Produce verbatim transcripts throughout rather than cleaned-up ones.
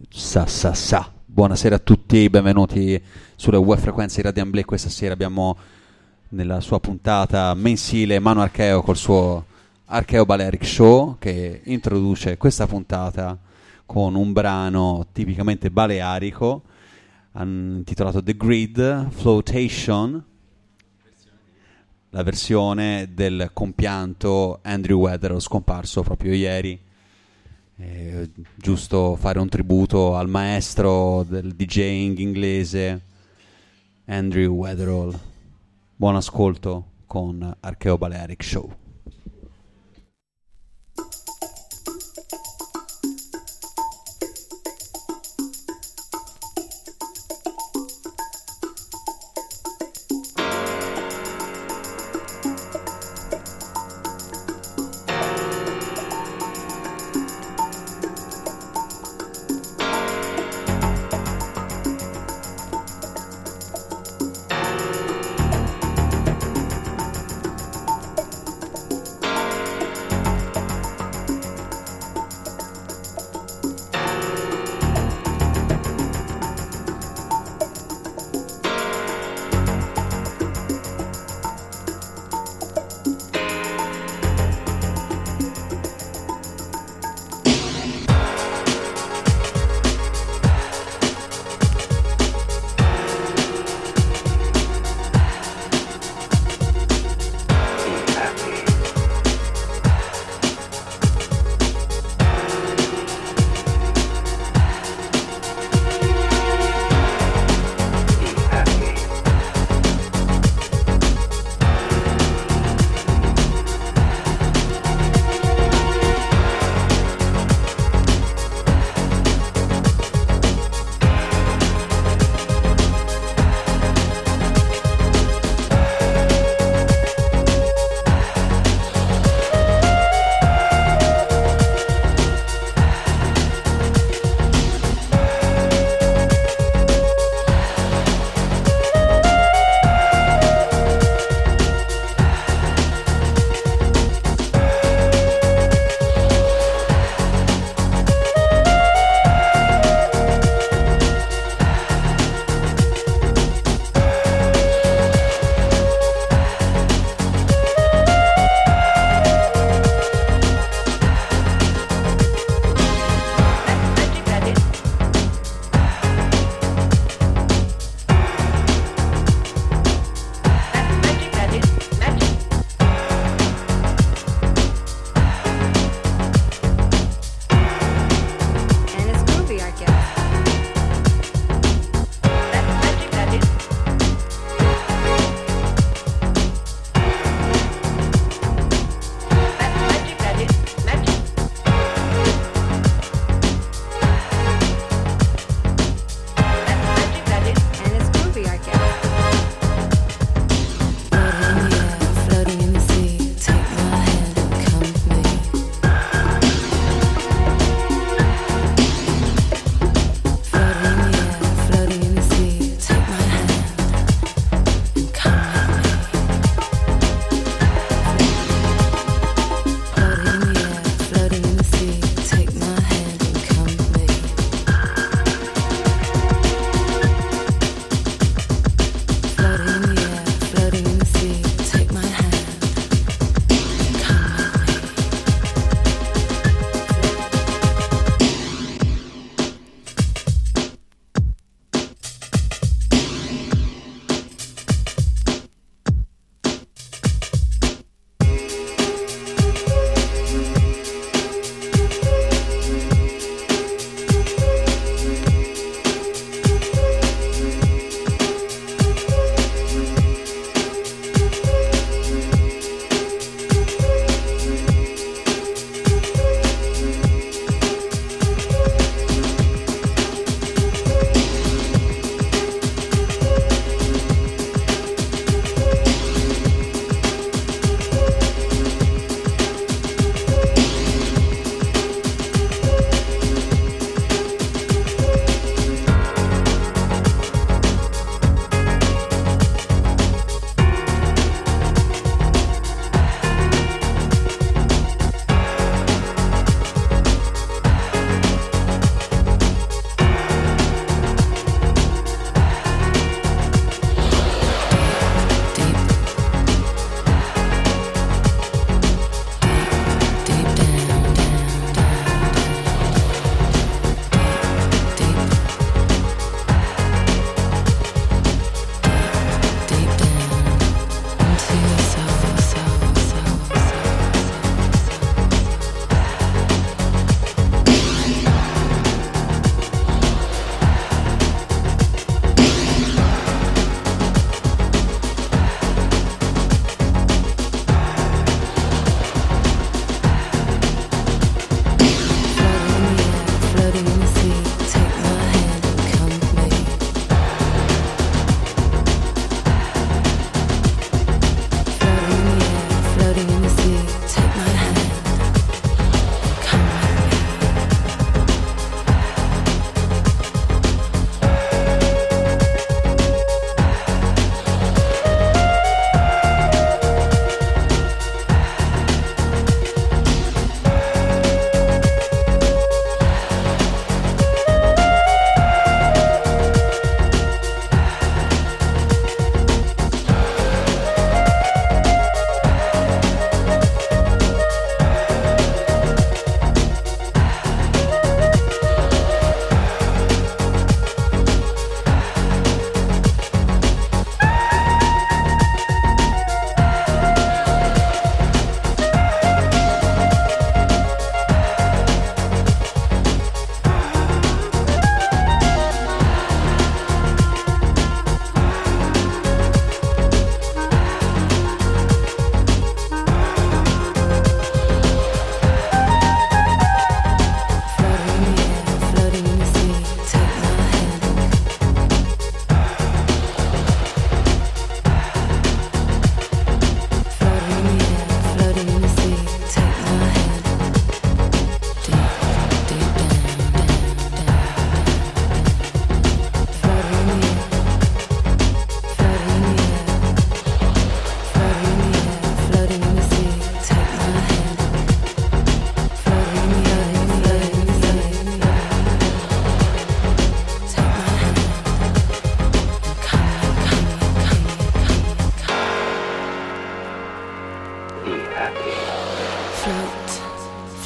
Sa sa sa. Buonasera a tutti, benvenuti sulle web frequenze di Radio Amblè. Questa sera abbiamo nella sua puntata mensile Manu Archeo col suo Archeo Balearic Show, che introduce questa puntata con un brano tipicamente balearico intitolato The Grid Flotation, la versione del compianto Andrew Weatherall, scomparso proprio ieri. Eh, giusto fare un tributo al maestro del DJing inglese Andrew Weatherall. Buon ascolto con Archeo Balearic Show.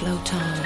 float on.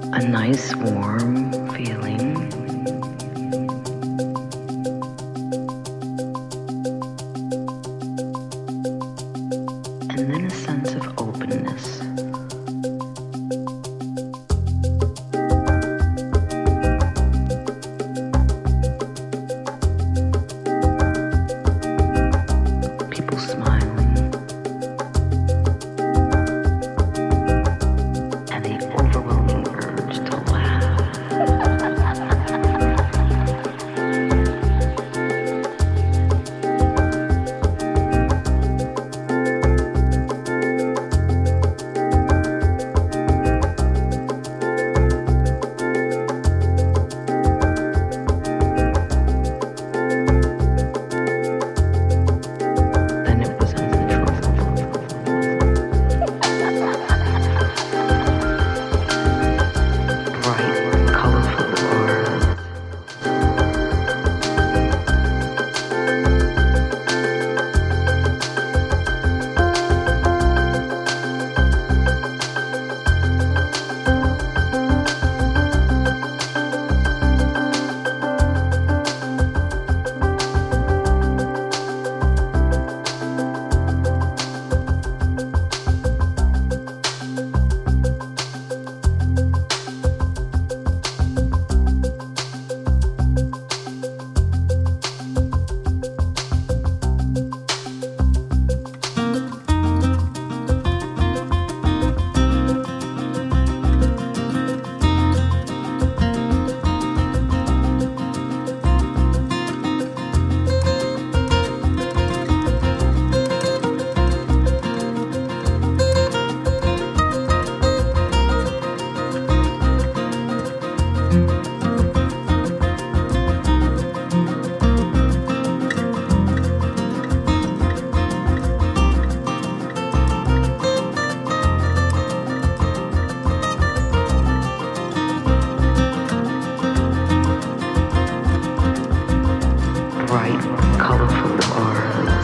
A nice warm feeling. And then a sense of openness. People smiling. And the overwhelming urge to laugh. Then it was uncontrollable. Bright, colorful auras. Bright, colorful auras.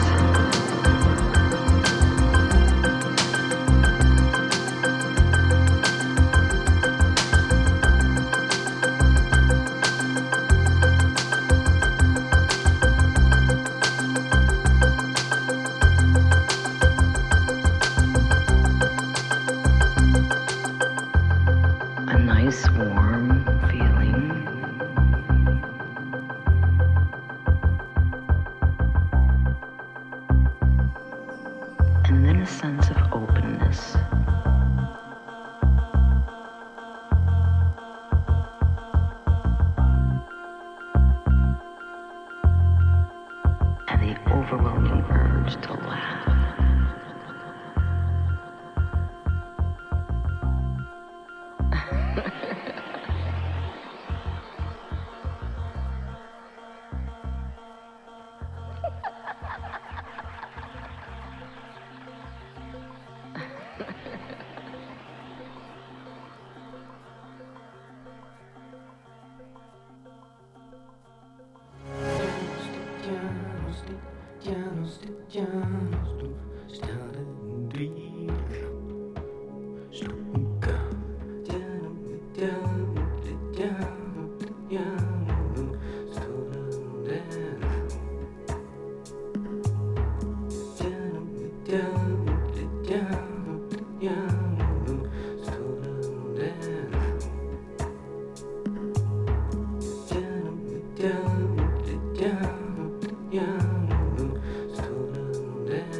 A nice warm feeling. And then a sense of openness. And the overwhelming urge to laugh. Yeah.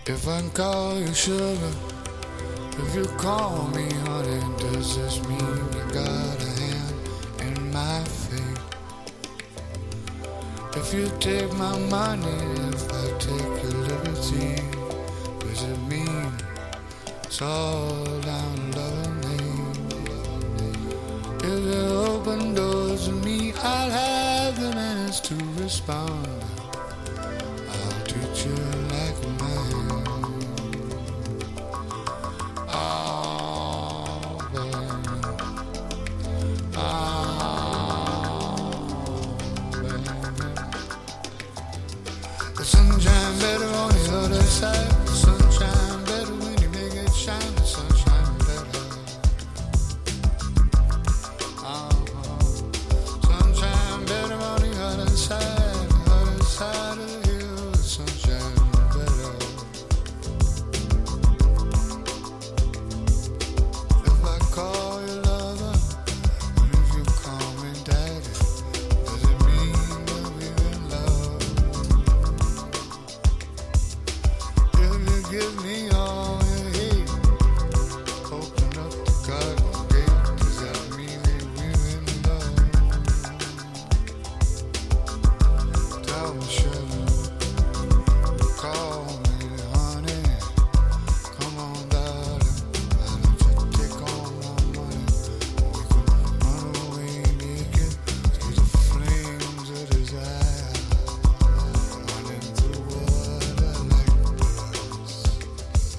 If I call you sugar, if you call me honey, does this mean you got a hand in my fate? If you take my money, if I take your liberty, does it mean it's all down love and hate? If you open doors to me, I'll have the minutes to respond. I'll treat you like a man. Oh, baby. Oh, baby. The sunshine better on the other side. The sunshine better when you make it shine. The sunshine better. Uh-huh. Sunshine better on the other side. The other side of the hill. The sunshine better. If I call you lover, and if you call me daddy, does it mean that we're in love? If you give me all you hate, open up the garden gate, does that mean that we're in love? Tell me, sugar, call me honey, come on, darling, why don't you take all my money? We can run away naked through the flames of desire, running through water like birds.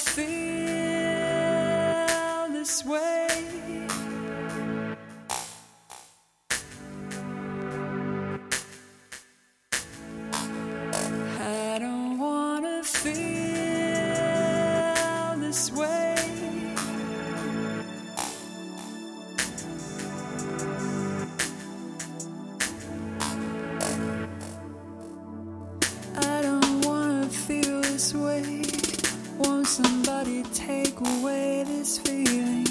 feel this way. I don't wanna feel this way. I don't wanna feel this way. Won't somebody take away this feeling?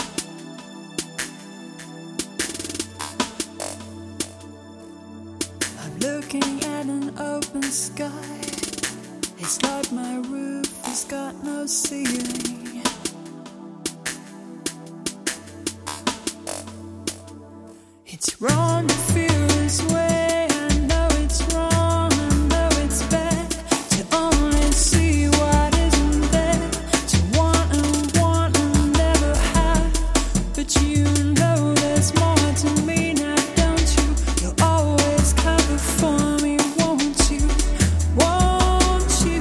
I'm looking at an open sky. It's like my roof has got no ceiling. It's wrong to feel this way. I know it's wrong, I know it's bad to only see what isn't there, to want and want and never have. But you know there's more to me now, don't you? You'll always cover for me, won't you? Won't you?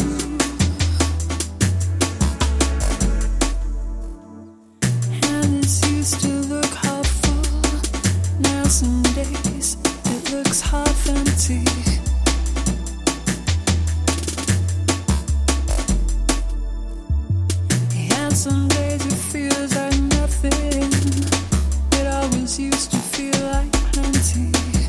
And this used to look hopeful. Now some days it looks half empty. And some days it feels like nothing. It always used to feel like plenty.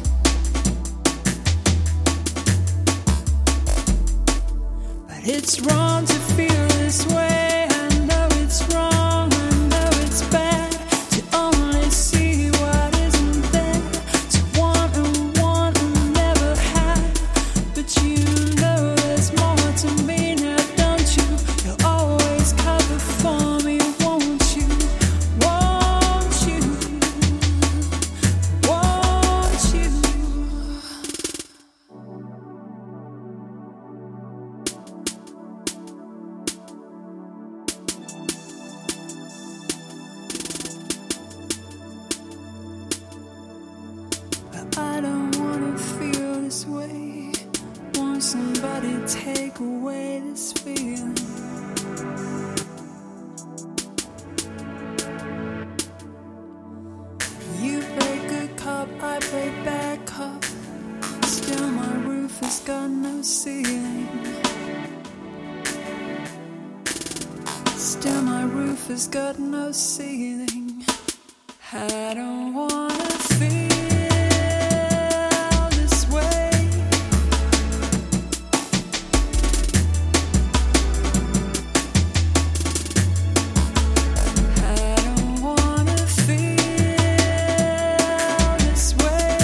But it's wrong to feel this way. I know it's wrong, I know it's bad to only see what isn't there, to want and want and never have. But you know there's more to me now, don't you? You'll always cover for me, won't you? Won't you? Won't you? But I don't wanna feel this way. Won't somebody take away this feeling? You play good cop, I play bad cop. Still my roof has got no ceiling. Still my roof has got no ceiling. I don't wanna feel this way. I don't wanna feel this way.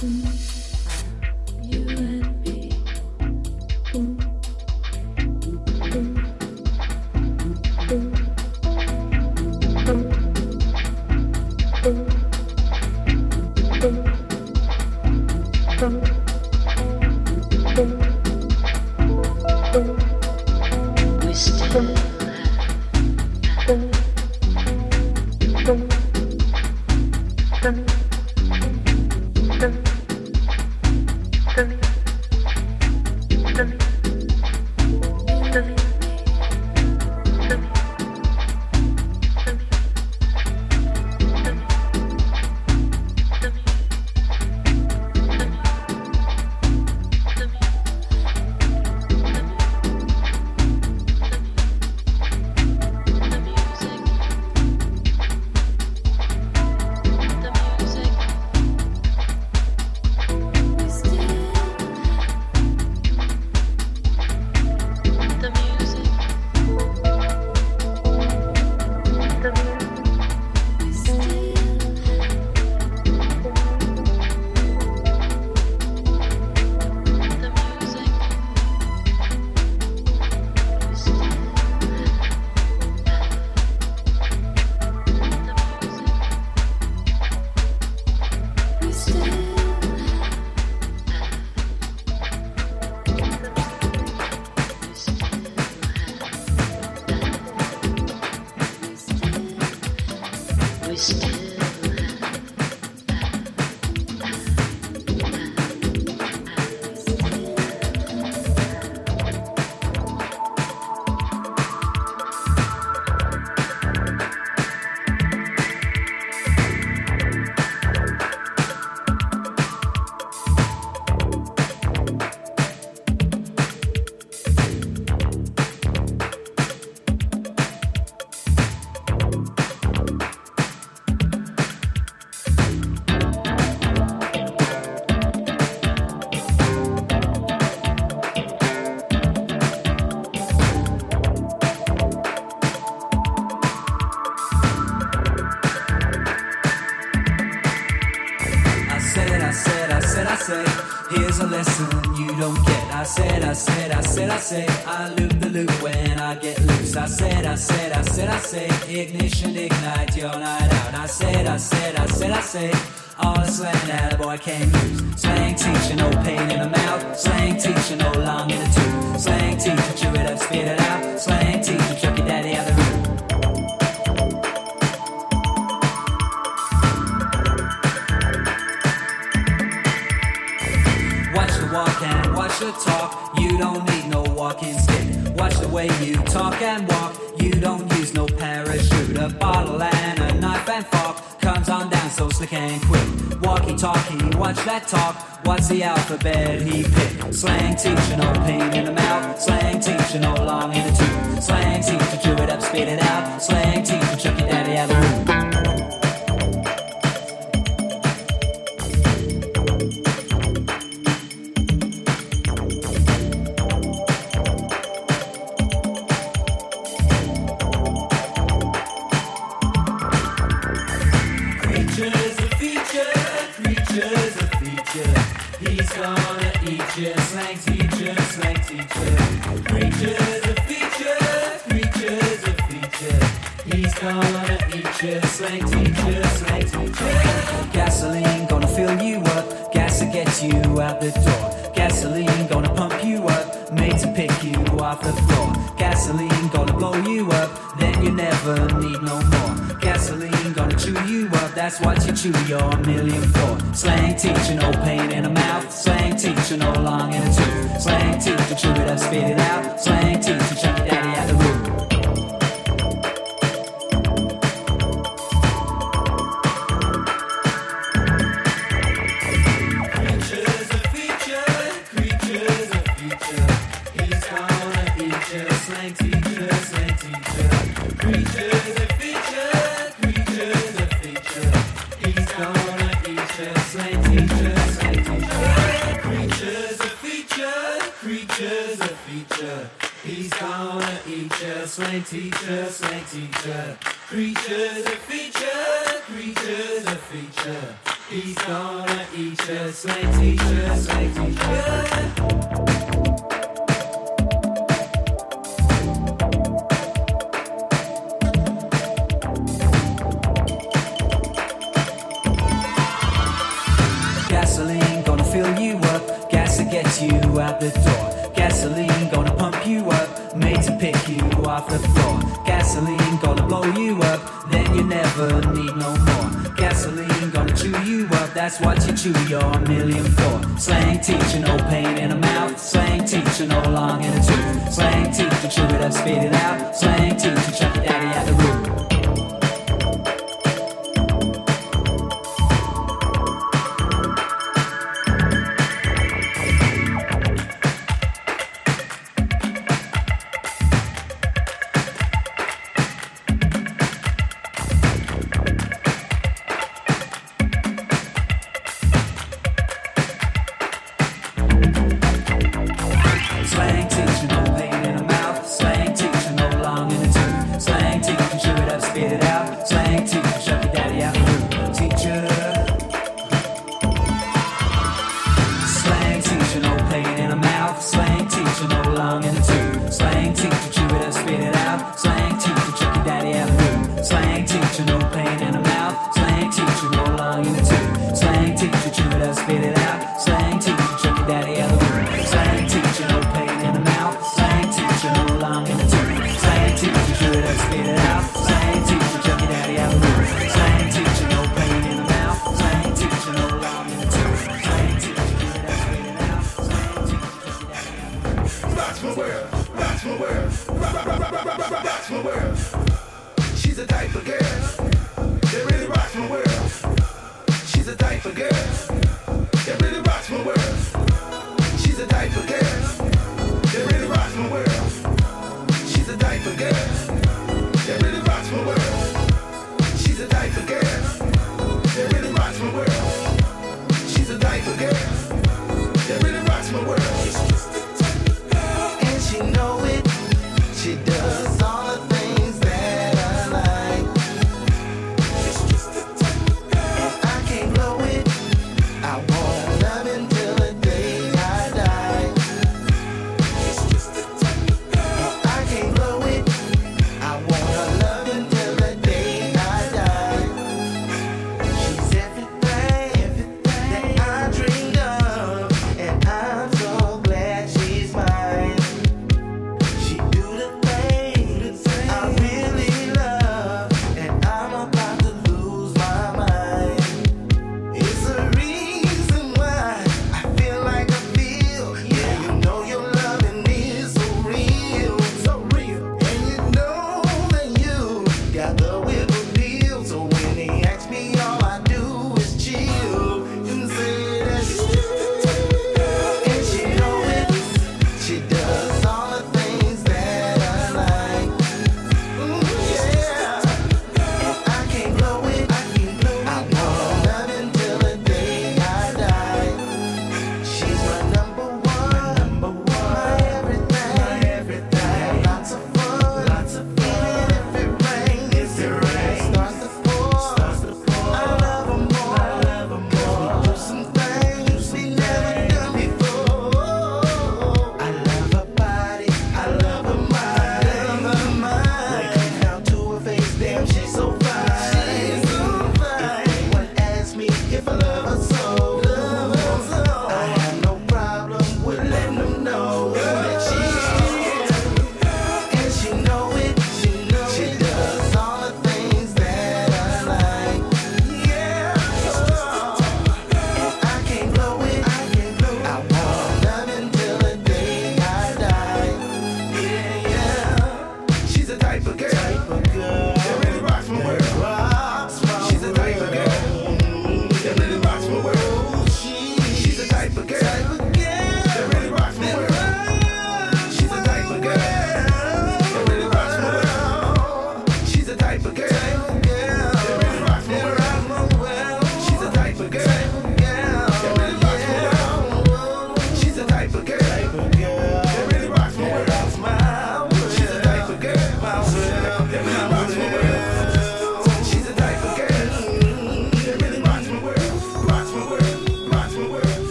I said, I said, I said, I said, I loop the loop when I get loose. I said, I said, I said, I said, ignition, ignite your night out. I said, I said, I said, I said, all the slang that a boy can use. Slang teacher, no pain in the mouth. Slang teacher, no long in the tooth. Slang teacher, chew it up, spit it out. Slang teacher, chuck your daddy out the room. Watch the walk and watch the talk. You don't need no walking stick. Watch the way you talk and walk. You don't use no parachute. A bottle and a knife and fork comes on down so slick and quick. Walkie-talkie, watch that talk. What's the alphabet he picked? Slang teacher, no pain in the mouth. Slang teacher, no long in the tooth. Slang teacher, chew it up, spit it out. Slang teacher, chuck your daddy out the room. Gonna eat you, slang teacher, slang teacher. Creatures a feature, creatures a feature. He's gonna eat you, slang teacher, slang teacher. Gasoline gonna fill you up, gas to get you out the door. Gasoline gonna pump you up, made to pick you off the floor. Gasoline gonna blow you up, then you never need no more. Gasoline gonna chew you up, that's what you chew your million for. Slang teacher, no pain in the mouth. Slang teacher, no long in the tooth. Slang teacher, chew it up, spit it out. Slang teacher, chuck your daddy out the room. Creatures a feature, creatures a feature. He's gonna eat you, slang teacher, slang teacher. Creatures a feature, creatures a feature. He's gonna eat you, slang teacher, slang teacher. Creatures a feature, creatures a feature. He's gonna eat you, slang teacher, slang teacher. Creatures a feature, creatures a feature. He's gonna eat you, slang teacher, slang teacher. Gasoline gonna fill you up, gas to get you out the door. Gasoline gonna pump you up, made to pick you off the floor. Gasoline gonna blow you up, then you never need no more. Gasoline gonna chew you up, that's what you chew your million for. Slang teacher, no pain in the mouth. Slang teacher, no long in the tooth. Slang teacher, chew it up, spit it out. Slang teacher, chuck your daddy out the roof. Slang teacher, no pain in the mouth. Slang teacher, no long in the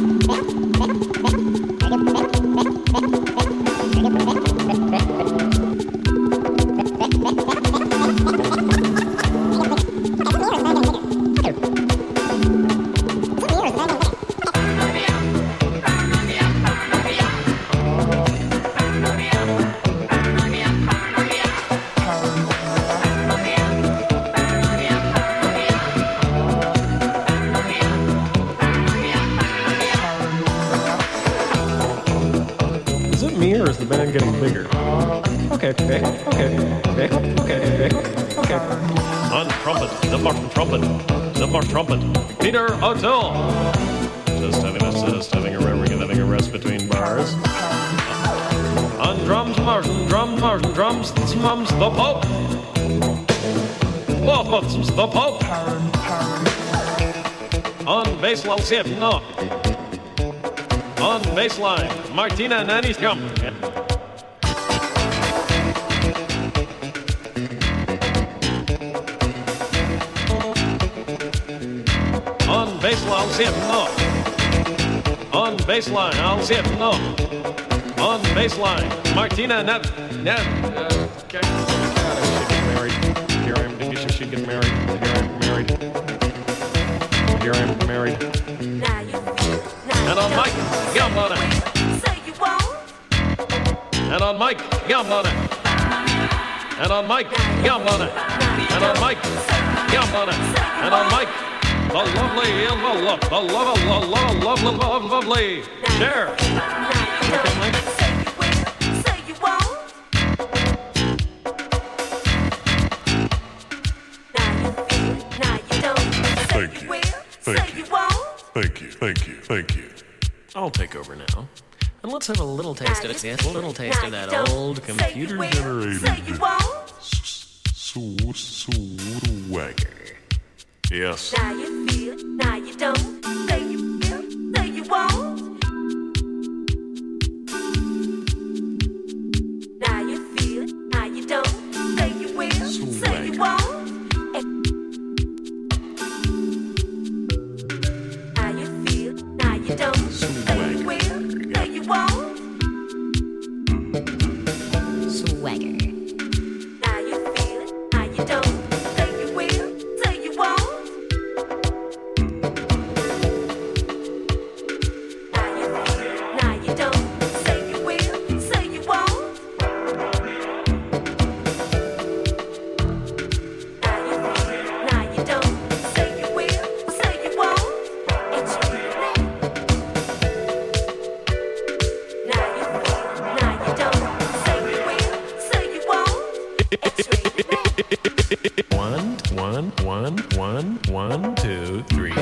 band getting bigger. Okay, okay, okay, okay, okay, okay. On trumpet, the Martin trumpet, the Martin trumpet, Peter O'Toole. Just having a just having a having a rest between bars. On drums, Martin, drums, Martin, drums, mums, the Pope. Oh, the Pope. On bass, I'll see it, no. On baseline, Martina Nanny's come. On baseline, I'll see it, no. On baseline, I'll see it, no. On baseline, Martina Nan... Nan... Uh, okay. She get married. Here I am. Did you she get married? Here I am married. Here I am married. And on Mike, yum on it. And on Mike, yum on it. And on Mike, yum on it. And on Mike, yum on it. And on Mike, the lovely, the love, the love, the love, love, love, love, lovely. Share. Okay, Mike. Thank you. Thank you. Thank you. Thank you. Thank you. I'll take over now. And let's have a little taste of it. Yes, a little taste of that old computer generated swagger. Yes. Now you feel, now you don't. Say you feel, say you won't. Now you feel, now you don't. Say you will, say you won't. Now you feel, now you don't. Say you will, say you won't. Swagger. Now you feel it, now you don't. Say you will, say you won't. Now you feel it, now you don't. Say you will, say you won't. Now you feel it, now you don't. Say you will, say you won't. It's really. Now you feel it, now you don't. Say you will, say you won't. It's really. One, one, one, one, one, two, three.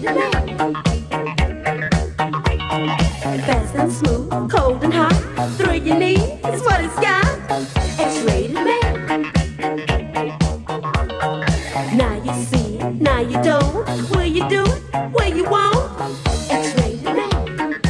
X-rated man. Fast and smooth, cold and hot. Thrill you need is what it's got. X-rated man. Now you see it, now you don't. Will you do it? Will you won't? X-rated man.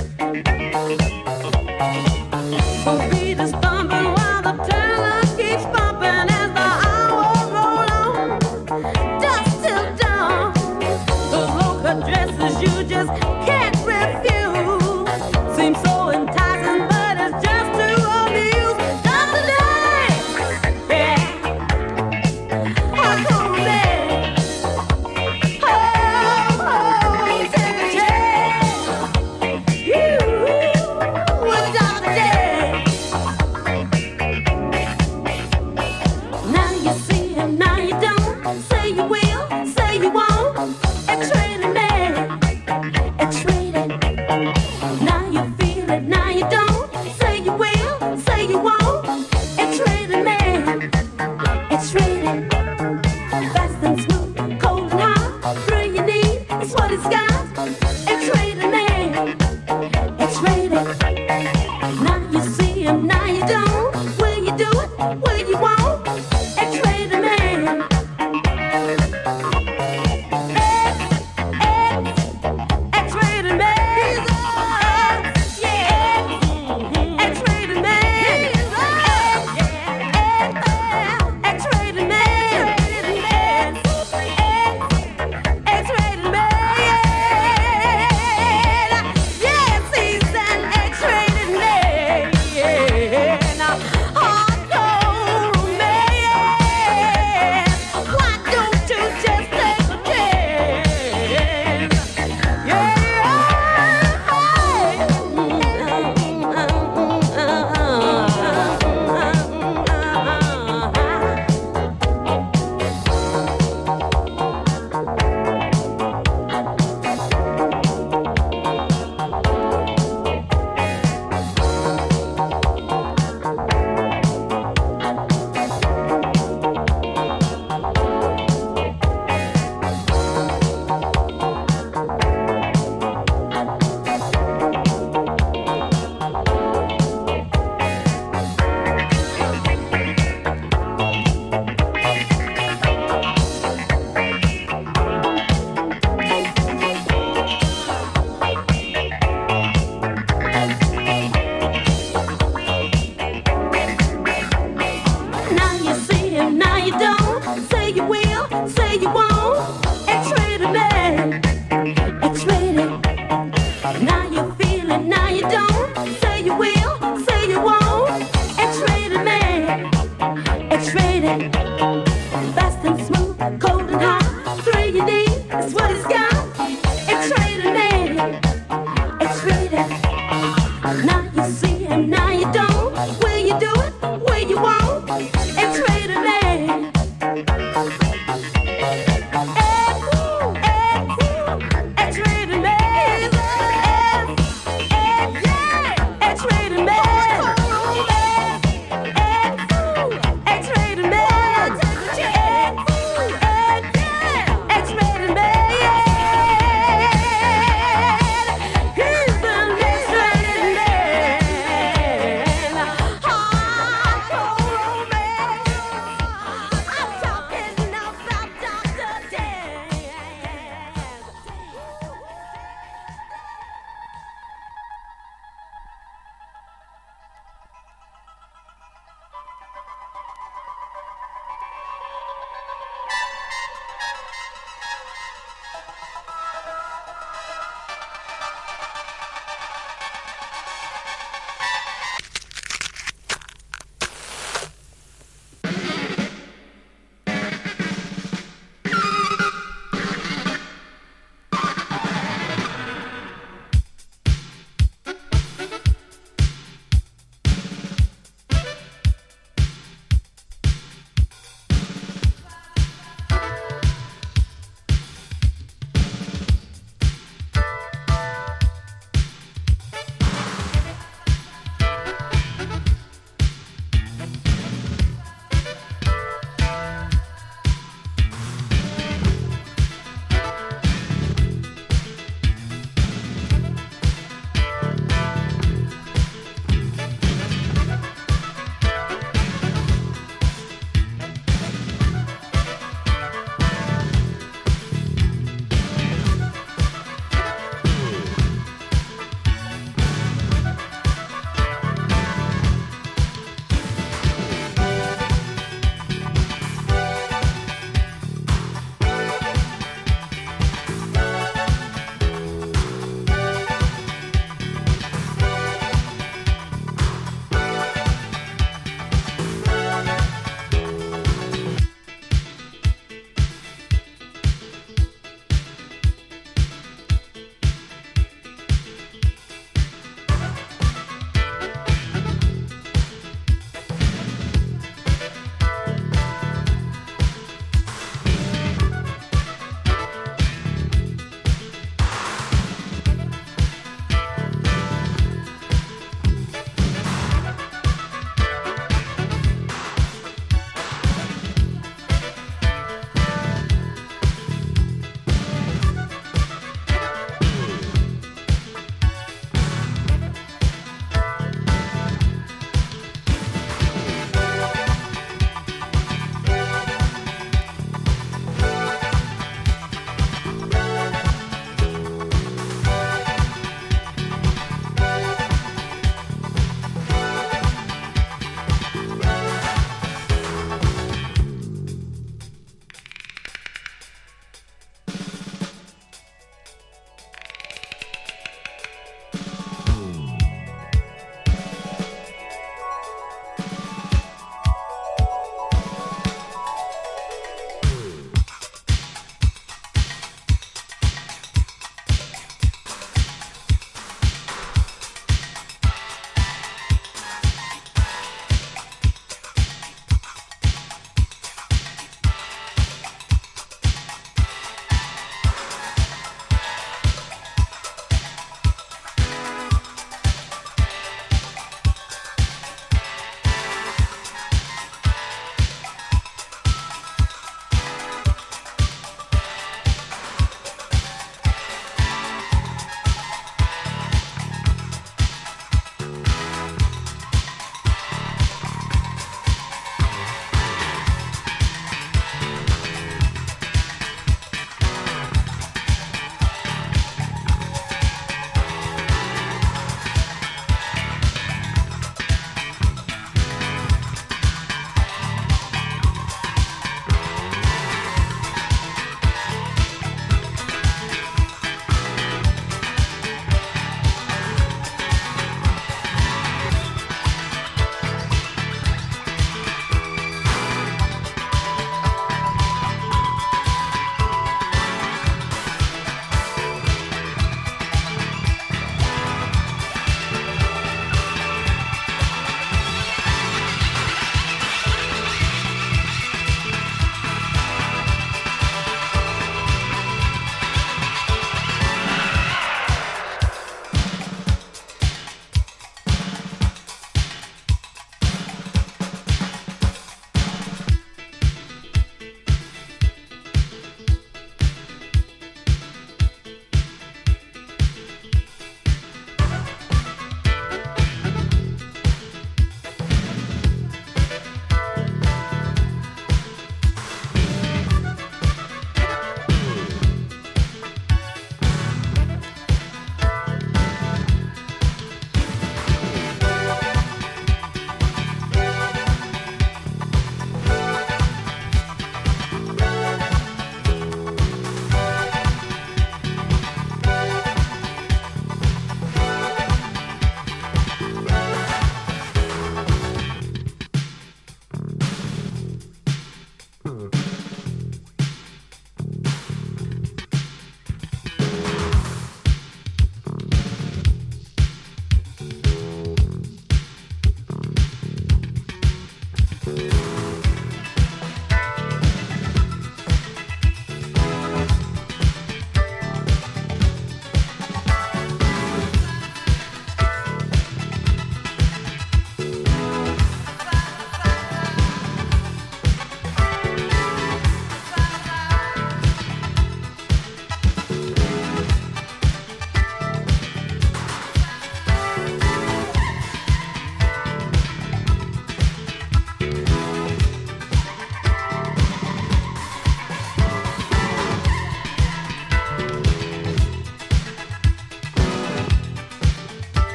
The beat is thumping while the tailor keeps bumping as the hours roll on. Dusk till dawn. Those low-cut dresses you just can't refuse. Seem so enticing, but it's just too obvious. Just a dance, yeah. Hardcore dance. Oh, oh, take a chance. You, with Doctor Dance. Now you see him, now you don't. Say you will, say you won't. X-rated man, X-rated. Now you feel it, now you don't. Say you will, say you won't. X-rated man, X-rated. Fast and smooth, cold and hot. Thrill you need, it's what it's got.